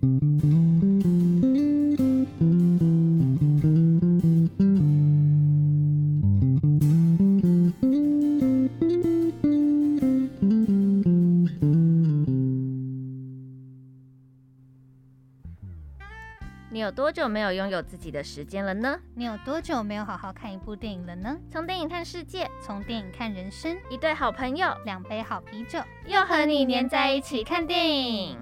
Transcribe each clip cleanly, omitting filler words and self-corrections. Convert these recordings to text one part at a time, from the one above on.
你有多久沒有擁有自己的時間了呢？ 你有多久沒有好好看一部電影了呢？ 從電影看世界， 從電影看人生， 一對好朋友， 兩杯好啤酒， 又和你黏在一起看電影。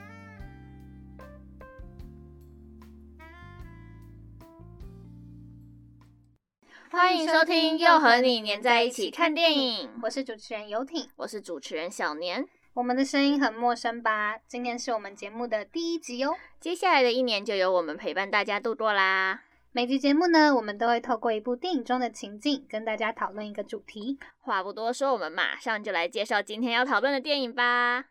歡迎收聽《又和你黏在一起看電影》， 我是主持人游艇， 我是主持人小年。 我們的聲音很陌生吧？今天是我們節目的第1集哦。 接下來的1年就由我們陪伴大家度過啦。 每集節目呢，我們都會透過一部電影中的情境，跟大家討論一個主題。 話不多說，我們馬上就來介紹今天要討論的電影吧。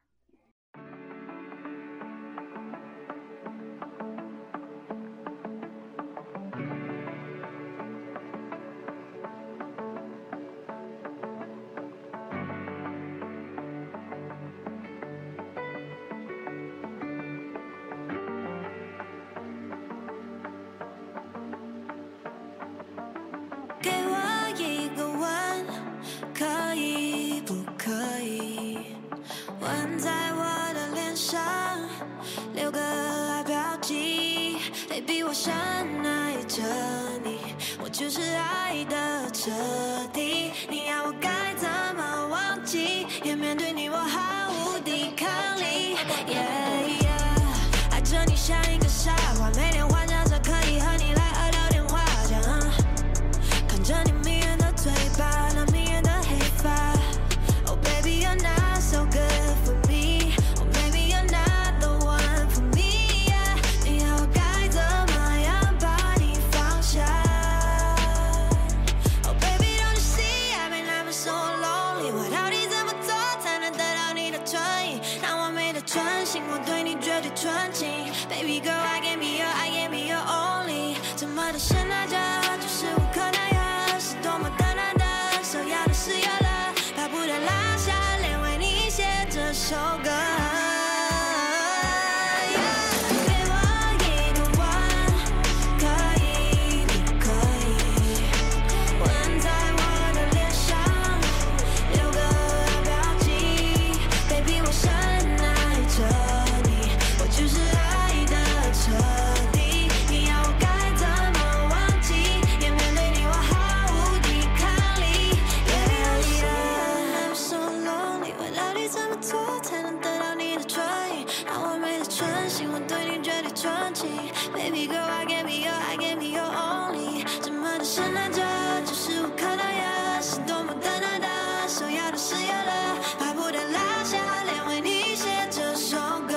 給我一個吻，可以不可以？吻在我的臉上，留個愛標記。Baby， 我深愛着你，我就是愛的徹底。你要我該怎麼忘記？也面對你我毫無抵抗力。愛着你像一個傻瓜，每天幻想着可以和你來2聊電話講。看着你迷人的嘴巴，那迷人的黑髮。Oh baby, you're not so good for me. Oh baby, you're not the one for me. Yeah. 你要我該怎麼樣把你放下 ？Oh baby, don't you see I've been so lonely. 我到底怎麼做才能得到你的唇印？那完美的專心，我對你絕對純情。Baby girl, I give me your, I give me your only. 怎麼的深愛着，就是無可奈何。是多麼的難得，首要的是有了，巴不得拉下臉為你寫這首歌。Baby girl, I give me your, I give me your only. 怎麼的深愛着，就是無可奈何，是多麼的難得，首要的是有了，巴不得拉下臉為你寫這首歌。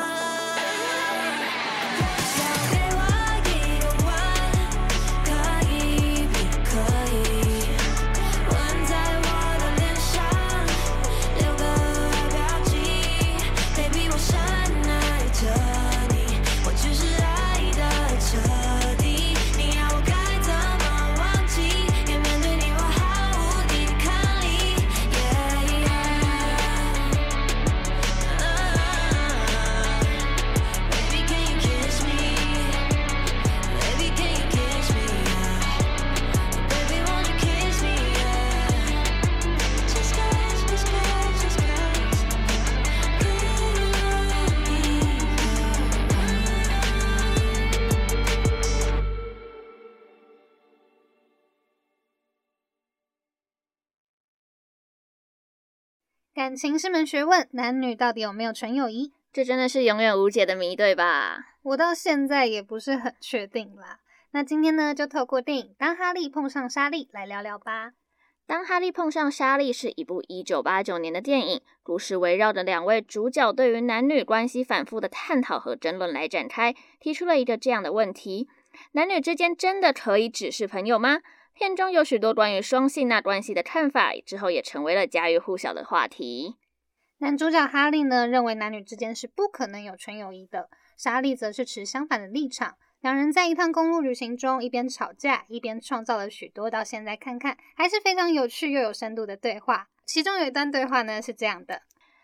感情是門學問，男女到底有沒有純友誼？ 這真的是永遠無解的謎，對吧？ 我到現在也不是很確定啦。那今天呢，就透過電影《當哈利碰上莎莉》來聊聊吧。 當哈利碰上莎莉是一部1989年的電影，故事圍繞着2位主角對於男女關係反覆的探討和爭論來展開，提出了一個這樣的問題：男女之間真的可以只是朋友嗎？片中有許多關於雙性那關係的看法，之後也成為了家喻戶曉的話題。 男主角哈利呢，認為男女之間是不可能有純友誼的，莎莉則是持相反的立場。兩人在一趟公路旅行中，一邊吵架，一邊創造了許多到現在看看還是非常有趣又有深度的對話。其中有一段對話呢是這樣的：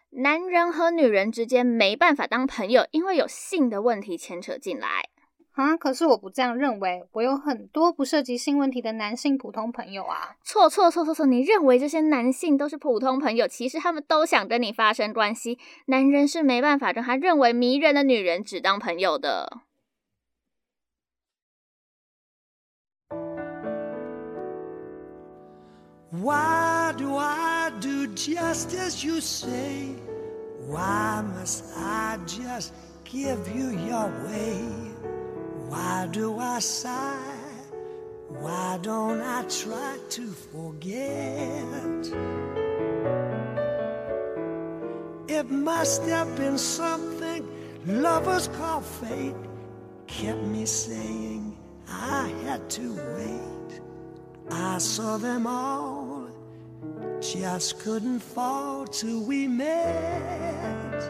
男人和女人之間沒辦法當朋友，因為有性的問題牽扯進來。 可是我不這樣認為，我有很多不涉及性問題的男性普通朋友啊。 錯，你認為這些男性都是普通朋友，其實他們都想跟你發生關係。男人是沒辦法跟他認為迷人的女人只當朋友的。 Why do I do just as you say? Why must I just give you your way?Why do I sigh? Why don't I try to forget? It must have been something lovers call fate kept me saying I had to wait. I saw them all, just couldn't fall till we met.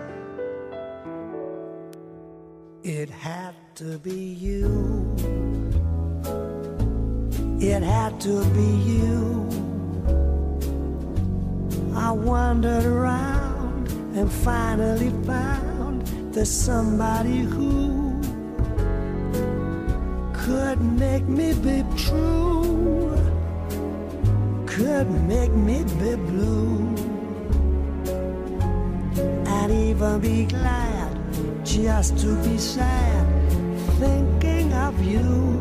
It had to be you. It had to be you. I wandered around and finally found there's somebody who could make me be true, could make me be blue, and even be glad just to be sad thinking of you.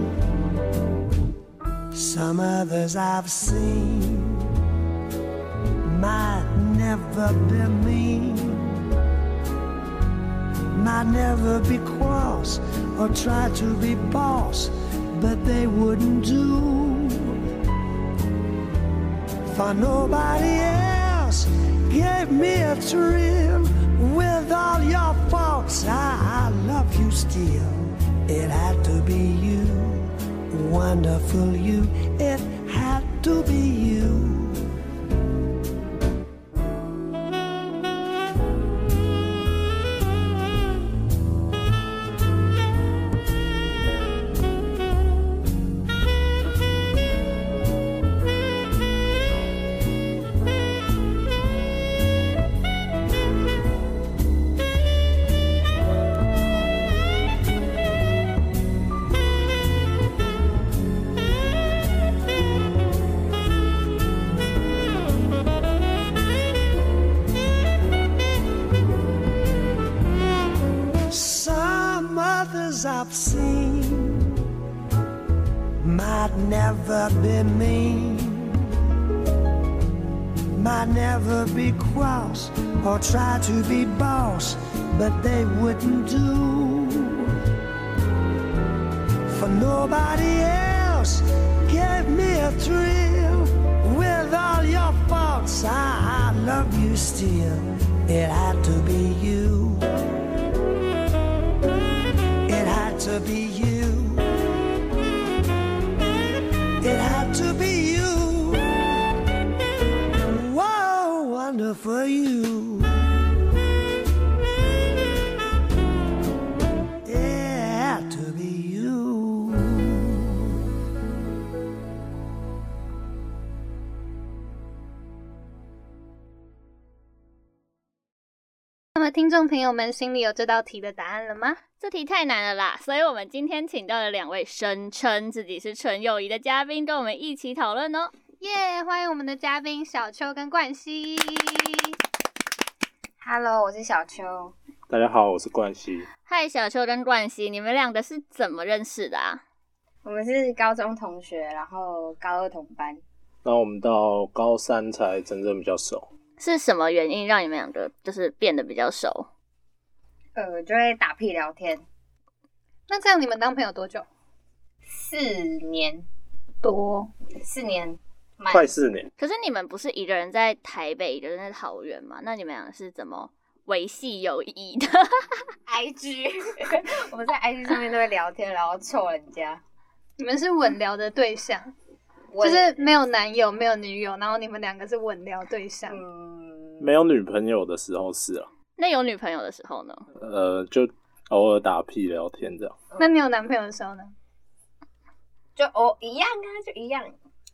Some others I've seen might never be mean, might never be cross or try to be boss, but they wouldn't do for nobody else. Gave me a thrill. With all your faults, I love you still. It had to be you, wonderful you. It had to be you. I've seen might never be mean, might never be cross or try to be boss, but they wouldn't do for nobody else. Gave me a thrill. With all your faults, I love you still. It had to be you. It had to be you. It had to be you. Whoa, wonderful you. It had to be you. 那么听众朋友们心裡有這道題的答案了嗎？ 這題太難了啦，所以我們今天請到了兩位聲稱自己是純友誼的嘉賓，跟我們一起討論哦。 耶！歡迎我們的嘉賓小秋跟冠希。 Hello， 我是小秋。 大家好，我是冠希。 嗨，小秋跟冠希，你們兩個是怎麼認識的啊？ 我們是高中同學，然後高二同班。 然後我們到高三才真正比較熟。 是什麼原因讓你們兩個就是變得比較熟？ 就會打屁聊天。 那這樣你們當朋友多久 ？4年多 ，4年， 快4年。 可是你們不是一個人在台北，一個人在桃園嗎？那你們倆是怎麼維繫友誼的 ？IG， 我們在 IG 上面都會聊天，然後湊人家。 你們是穩聊的對象，就是沒有男友，沒有女友，然後你們兩個是穩聊對象。 沒有女朋友的時候是啊。 那有女朋友的時候呢？ 就偶爾打屁聊天這樣。 那你有男朋友的時候呢？ 就一樣啊，就一樣。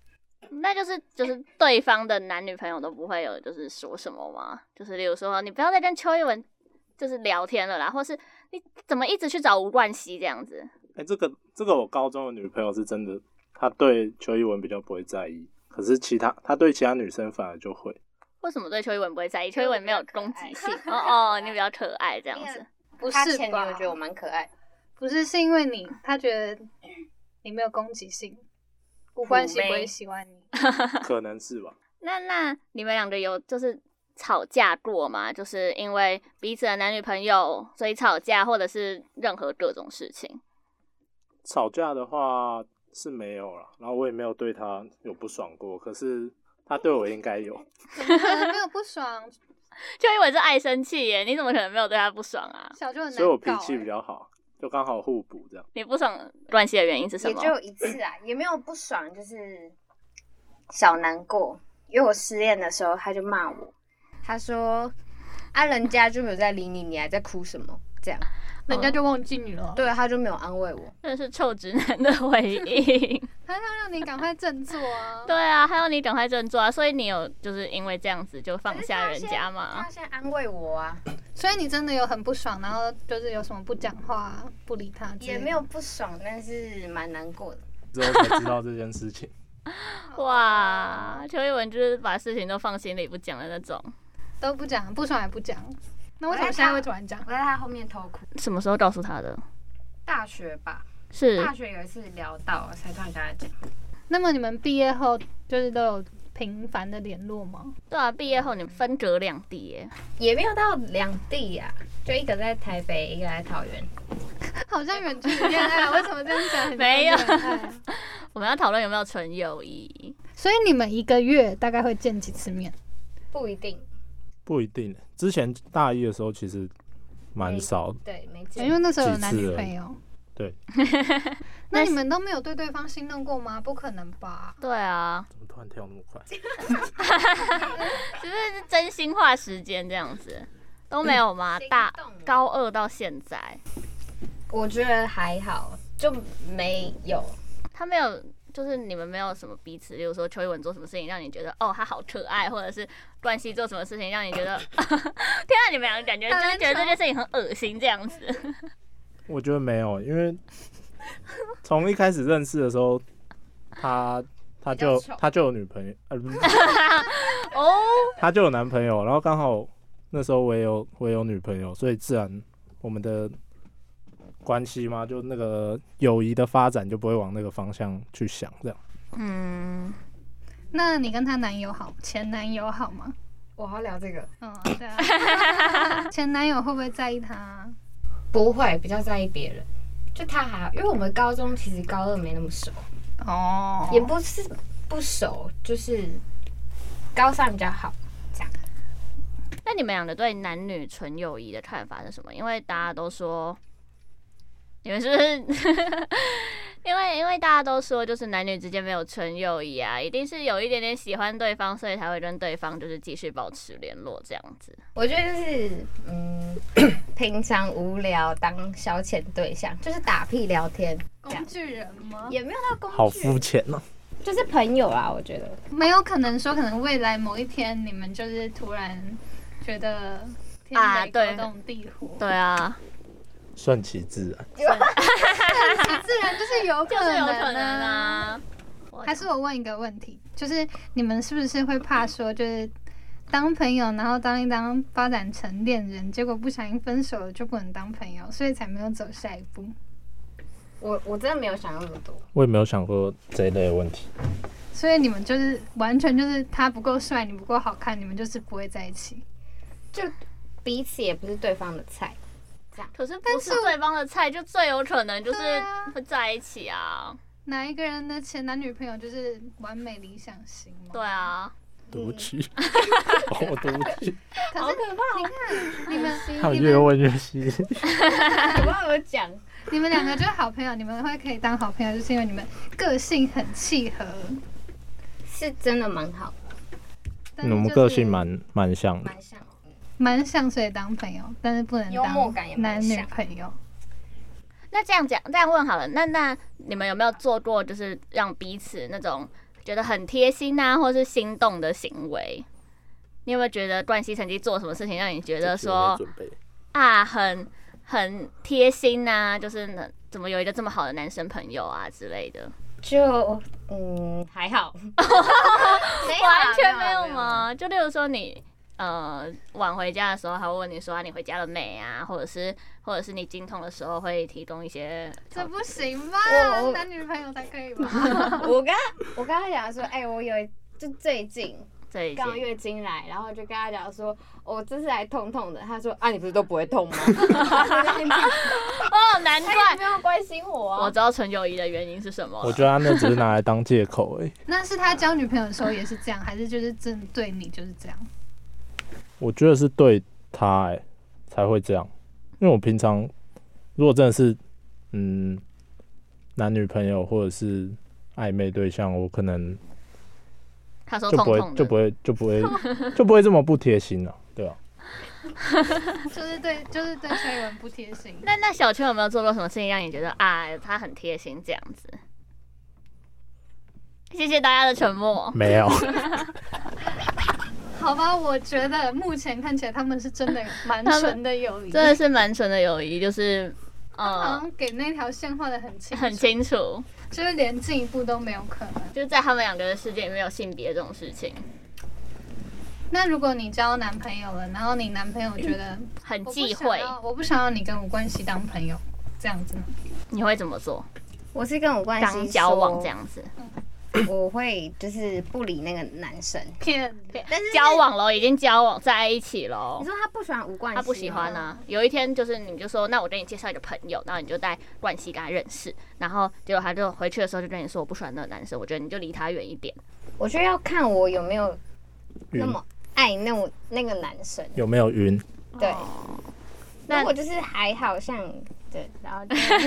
那就是對方的男女朋友都不會有就是說什麼嗎？就是例如說你不要再跟邱一文就是聊天了啦，或是你怎麼一直去找吳冠希這樣子？ 這個我高中的女朋友是真的，她對邱一文比較不會在意，可是她對其他女生反而就會。 為什麼對邱一文不會在意？邱一文沒有攻擊性你比較可愛這樣子。 不是吧？我覺得我蠻可愛。 不是，是因為他覺得你沒有攻擊性，吳冠希不會喜歡你。 可能是吧。 那你們兩個有就是吵架過嗎？就是因為彼此的男女朋友所以吵架，或者是任何各種事情。 吵架的話是沒有啦，然後我也沒有對他有不爽過，可是他對我應該有。 怎麼可能沒有不爽？ 就因為是愛生氣耶，你怎麼可能沒有对他不爽啊？ 小就很難搞， 所以我脾氣比較好，就剛好互補这樣。 你不爽關係的原因是什麼？ 也就一次啊，也沒有不爽，就是小難過。因為我失戀的時候，他就罵我，他說：“啊，人家就沒有在理你，你還在哭什麼？”這樣， 人家就忘記你了。 對，他就沒有安慰我。 真的是臭直男的回應。 他要讓你趕快振作啊！ 對啊，他要你趕快振作啊！所以你有就是因為這樣子就放下人家嗎？ 他先安慰我啊！ 所以你真的有很不爽，然後就是有什麼不講話、不理他？ 也沒有不爽，但是蠻難過的。 之後才知道這件事情。 哇，邱一文就是把事情都放心裡不講的那種， 都不講，不爽也不講。那為什麼現在會突然講？ 我在他後面偷哭。 什麼時候告訴他的？ 大學吧。 是大學有一次聊到，才突然跟他講。 那麼你們畢業後就是都有頻繁的聯絡嗎？ 對啊，畢業後你們分隔兩地耶。 也沒有到兩地啊，就一個在台北，一個在桃園。 好像遠距離戀愛，為什麼這樣講？ 沒有，我們要討論有沒有純友誼。 所以你們一個月大概會見幾次面？ 不一定， 不一定。之前大一的時候其實蠻少的， 對，沒見， 因為那時候有男女朋友。 對。 那你們都沒有对对方心動過嗎？不可能吧？ 對啊。 怎么突然跳那麼快？ 就是真心話時間這樣子都沒有嗎？高二到現在， 我覺得還好，就沒有。 他沒有，就是你們沒有什麼彼此，例如說邱一文做什麼事情讓你覺得他好可愛，或者是冠希做什麼事情讓你覺得天啊，你們兩個感覺就是覺得這件事情很惡心這樣子。 我覺得沒有，因為從一開始認識的時候，他就有女朋友，他就有男朋友，然後剛好那時候我也有女朋友，所以自然我們的關係嘛，就那個友誼的發展就不會往那個方向去想，這樣。嗯， 那你跟她男友好，前男友好嗎？ 我要聊這個。 對啊。前男友會不會在意他？ 不會，比較在意別人。就他還好，因為我們高中其實高二沒那麼熟。哦。也不是不熟，就是高三比較好。這樣。 那你們兩個對男女純友誼的看法是什麼？因為大家都說，你們是不是？因為大家都說，就是男女之間沒有純友誼啊，一定是有一點點喜歡對方，所以才會跟對方就是繼續保持聯絡這樣子。 我覺得就是平常無聊當消遣對象，就是打屁聊天。 工具人嗎？ 也沒有到工具人， 好膚淺哦。 就是朋友啊，我覺得沒有可能說，可能未來某一天你們就是突然覺得天雷勾動地火， 對啊。 順其自然， 順其自然就是有可能啊。 還是我問一個問題，就是你們是不是會怕說，就是當朋友，然後當一當發展成戀人，結果不小心分手了就不能當朋友，所以才沒有走下一步？ 我真的沒有想那麼多， 我也沒有想過這一類的問題。 所以你們就是完全就是他不夠帥，你不夠好看，你們就是不會在一起， 就彼此也不是對方的菜。 可是不是對方的菜，就最有可能就是會在一起啊。 哪一個人的前男女朋友就是完美理想型嗎？ 對啊， 對不起，我對不起。 可是好可怕！你看你們， 他們越問越細。 我不知道怎麼講。 你們兩個就是好朋友，你們會可以當好朋友，就是因為你們個性很契合， 是真的蠻好。 我們個性蠻像的。 蠻像，所以當朋友，但是不能當男女朋友。 那這樣問好了，那你們有沒有做過就是讓彼此那種覺得很貼心啊，或是心動的行為？你有沒有覺得冠希曾經做什麼事情讓你覺得說啊很貼心啊，就是怎麼有一個這麼好的男生朋友啊之類的？ 就還好， 完全沒有嗎？就例如說你晚回家的時候，他會問你說你回家了沒啊，或者是你經痛的時候會提供一些， 這不行吧？男女朋友才可以吧？ 我跟他講說，我就最近剛月經來，然後就跟他講說，我這次來痛痛的。他說你不是都不會痛嗎？ 難怪他也沒有關心我啊。 我知道純友誼的原因是什麼。 我覺得他那只是拿來當借口而已。 那是他交女朋友的時候也是這樣，還是就是針對你就是這樣？ 我覺得是對他才會這樣，因為我平常如果真的是男女朋友或者是曖昧對象，我可能他說痛痛的就不會這麼不貼心了，對吧？ 就是对崔文不貼心。 那小秋有沒有做過什麼事情讓你覺得他很貼心這樣子？謝謝大家的沉默。 沒有。 好吧，我覺得目前看起來他們是真的蠻純的友誼， 真的是蠻純的友誼，就是好像給那條線畫得很清楚，就是連進一步都沒有可能， 就是在他們兩個的世界裡没有性別這種事情。 那如果你交男朋友了，然後你男朋友覺得很忌讳， 我不想要你跟我冠希當朋友，這樣子呢？ 你會怎麼做？ 我是跟我冠希剛交往這樣子。 我会就是不理那个男生，但是交往了，已經交往在一起了。 你說他不喜歡吳冠希？ 他不喜歡啊。有一天就是你就說，那我給你介紹一個朋友，然後你就帶冠希跟他認識，然後結果他就回去的時候就跟你說，我不喜歡那個男生，我覺得你就離他遠一點。 我覺得要看我有沒有那麼愛那個男生， 有沒有暈？ 對，如果就是還好像對，然後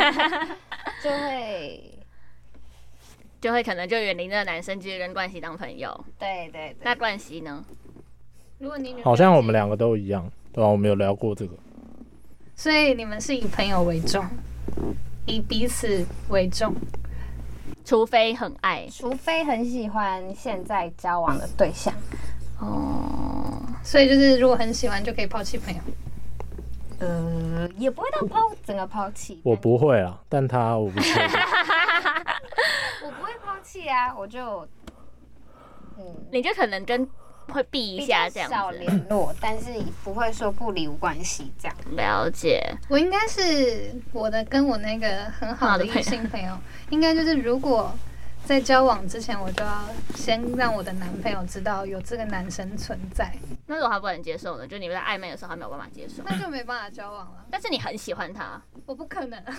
就會可能就遠離那個男生，繼續跟冠希當朋友。對。那冠希呢？ 如果你好像我們兩個都一樣，對吧？我們有聊過這個。 所以你們是以朋友為重，以彼此為重， 除非很愛， 除非很喜歡現在交往的對象。 所以就是如果很喜歡就可以拋棄朋友。 也不會到整個拋棄。 我不會啊，但我不會。 我不會拋棄啊，我就你就可能會避一下這樣子， 少聯絡，但是不會說不理無關係這樣。 了解。 我應該是跟我那個很好的異性朋友，應該就是如果在交往之前，我就要先讓我的男朋友知道有這個男生存在。 那如果他不能接受呢？就你們在曖昧的時候，他沒有辦法接受， 那就沒辦法交往了。 但是你很喜歡他， 我不可能。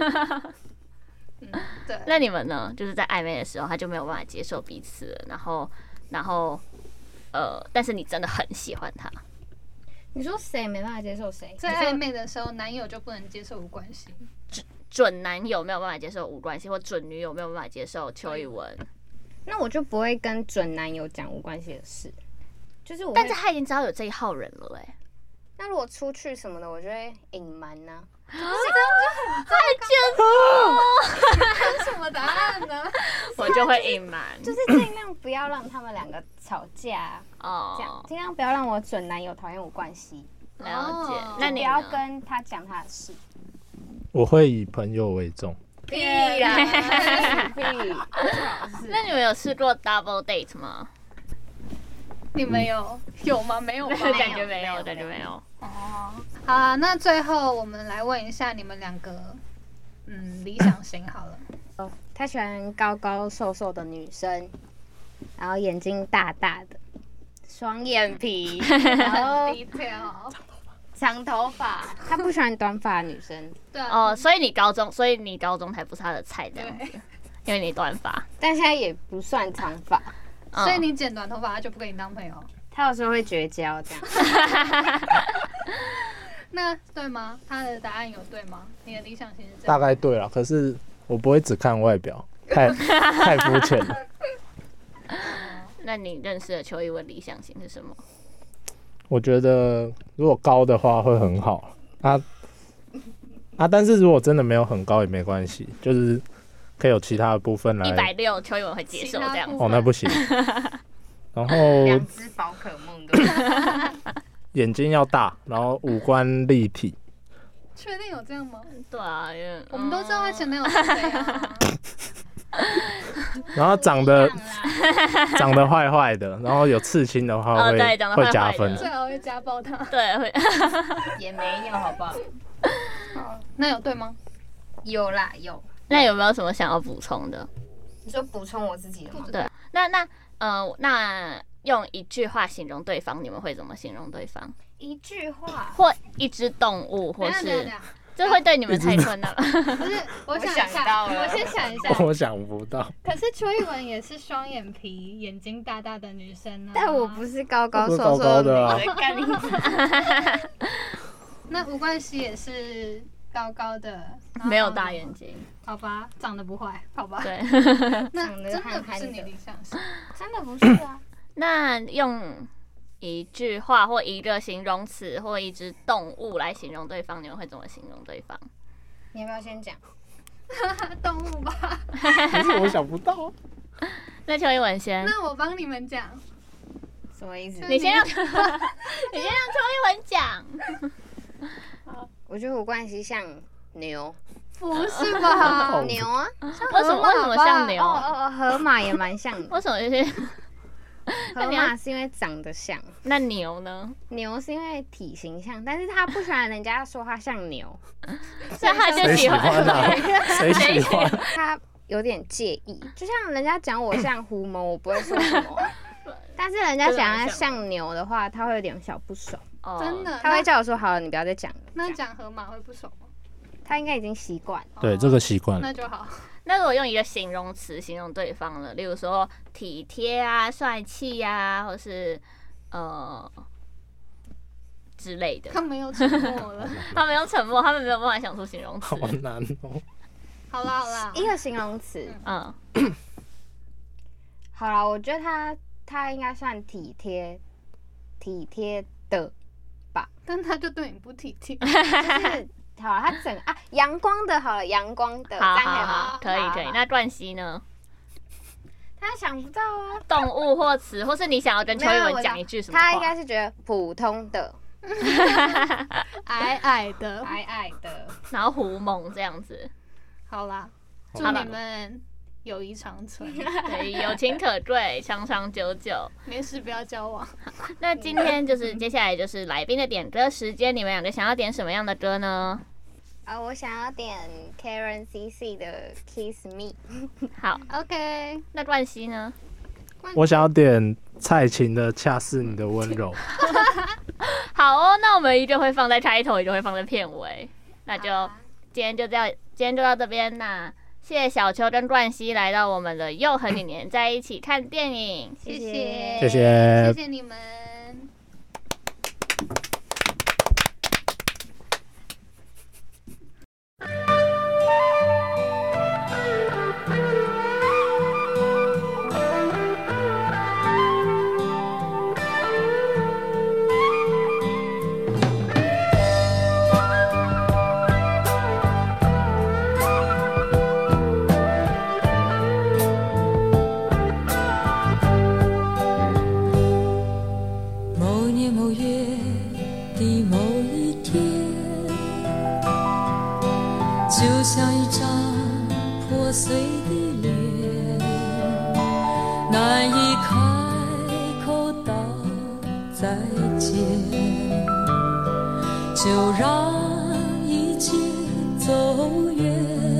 對。 那你們呢？就是在曖昧的時候，他就沒有辦法接受彼此了，然後但是你真的很喜歡他。 你說誰沒辦法接受誰？ 在曖昧的時候，男友就不能接受無關係。 準男友沒有辦法接受無關係，或準女友沒有辦法接受邱一文。 那我就不會跟準男友講無關係的事，就是但是他已經知道有這一號人了那如果出去什麼的，我就會隱瞞呢。 這樣就很糟糕。什麼答案呢？ 我就會隱瞞， 就是盡量不要讓他們兩個吵架這樣盡量不要讓我準男友討厭我關係。 了解。那你不要跟他講他的事。 我會以朋友為重。 屁呀！ 那你們有試過 double date 嗎？ 你們有嗎？沒有嗎？ 感覺沒有，感覺沒有。 好啊，那最後我們來問一下你們兩個，理想型好了。 他喜歡高高瘦瘦的女生，然後眼睛大大的，雙眼皮，然後長頭髮。他不喜歡短髮的女生。 對啊。 所以你高中才不是他的菜這樣子，因為你短髮。 但現在也不算長髮。 所以你剪短頭髮，他就不跟你當朋友。 他有時候會絕交這樣。 那對嗎？他的答案有對嗎？你的理想型是這樣？ 大概對了，可是我不會只看外表，太膚淺了。 那你認識的邱一文理想型是什麼？ 我覺得如果高的話會很好但是如果真的沒有很高也沒關係，就是可以有其他的部分來。 160，邱一文會接受這樣。 哦，那不行。然後 2隻寶可夢的。 眼睛要大，然後五官立體。 確定有這樣嗎？ 對啊， 我們都知道他前男友是誰啊。 然後長得壞壞的，然後有刺青的話會加分。 最好會家暴他。 對，會。 也沒有，好不好？ 好，那有对嗎？ 有啦，有。 那有没有什麼想要補充的？ 你說補充我自己的嗎？ 对，那用一句話形容對方，你們會怎麼形容對方？ 一句話， 或一隻動物，或是這會對你們太困難了。 不是，我想一下，我先想一下。 我想不到。 可是邱一文也是双眼皮、眼睛大大的女生啊。 但我不是高高瘦瘦的啊。 那吴冠希也是高高的， 沒有大眼睛。 好吧，長得不壞，好吧。 對。 那真的不是你理想型， 真的不是啊。 那用一句話或一個形容詞或一隻動物來形容對方，你們會怎麼形容對方？ 你要不要先講？ 動物吧。 可是我想不到。 那邱一文先。 那我幫你們講。 什麼意思？ 你先讓邱一文講。 我覺得吴冠希像牛。 不是吧？ 牛啊？ 為什麼像牛？ 河馬也蠻像的。 為什麼這些？ 河馬是因為長得像。 那牛呢？ 牛是因為體型像，但是他不喜歡人家說他像牛， 所以他就喜歡。 誰喜歡？ 他有點介意，就像人家講我像狐獴，我不會說什麼。但是人家講他像牛的話，他會有點小不爽。 真的？ 他會叫我說：“好了，你不要再講了。” 那講河馬會不爽嗎？ 他應該已經習慣。 對，這個習慣。 那就好。 那如果用一個形容詞形容對方了，例如說體貼啊、帥氣啊，或是之類的。 他們又沉默了。 他們又沉默，他們沒有辦法想出形容詞。 好難哦。 好啦， 一個形容詞。好啦，我覺得他應該算體貼的吧。 但他就對你不體貼。 就是好了，他整個陽光的，好了，陽光的， 好，可以。那冠希呢？ 他想不到啊。 動物或詞，或是你想要跟邱一文講一句什麼話？ 他應該是覺得普通的， 矮矮的， 然後狐獴這樣子。 好啦，祝你們友誼長存， 對，友情可貴，長長久久。 沒事，不要交往。 那今天接下來就是來賓的點歌時間，你們兩個想要點什麼樣的歌呢？ 我想要點 Karen CC 的 Kiss Me。 好 ，OK。 那冠希呢？ 我想要點蔡琴的《恰似你的溫柔》。 好哦，那我們一個會放在開頭，一個會放在片尾。那就今天就到這邊。那謝謝小邱跟冠希來到我們的又和你黏在一起看電影， 謝謝你們。 就像一張破碎的臉，難以開口道再見，就讓一切走遠。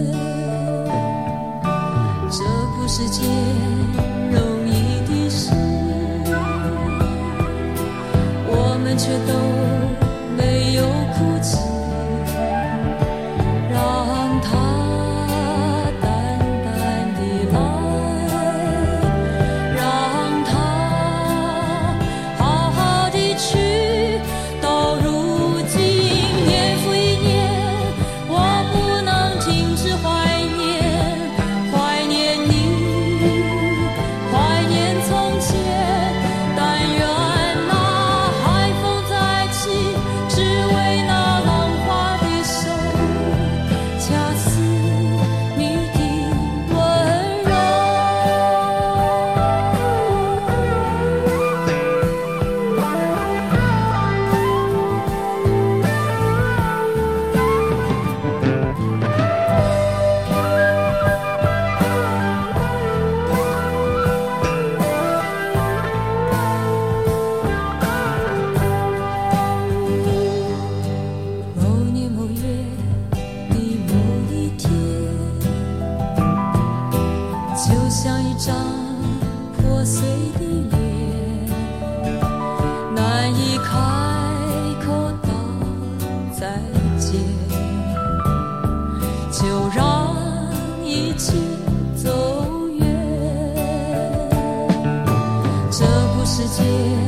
這不是件容易的事，我們卻都沒有哭泣。 到如今年复一年，我不能界。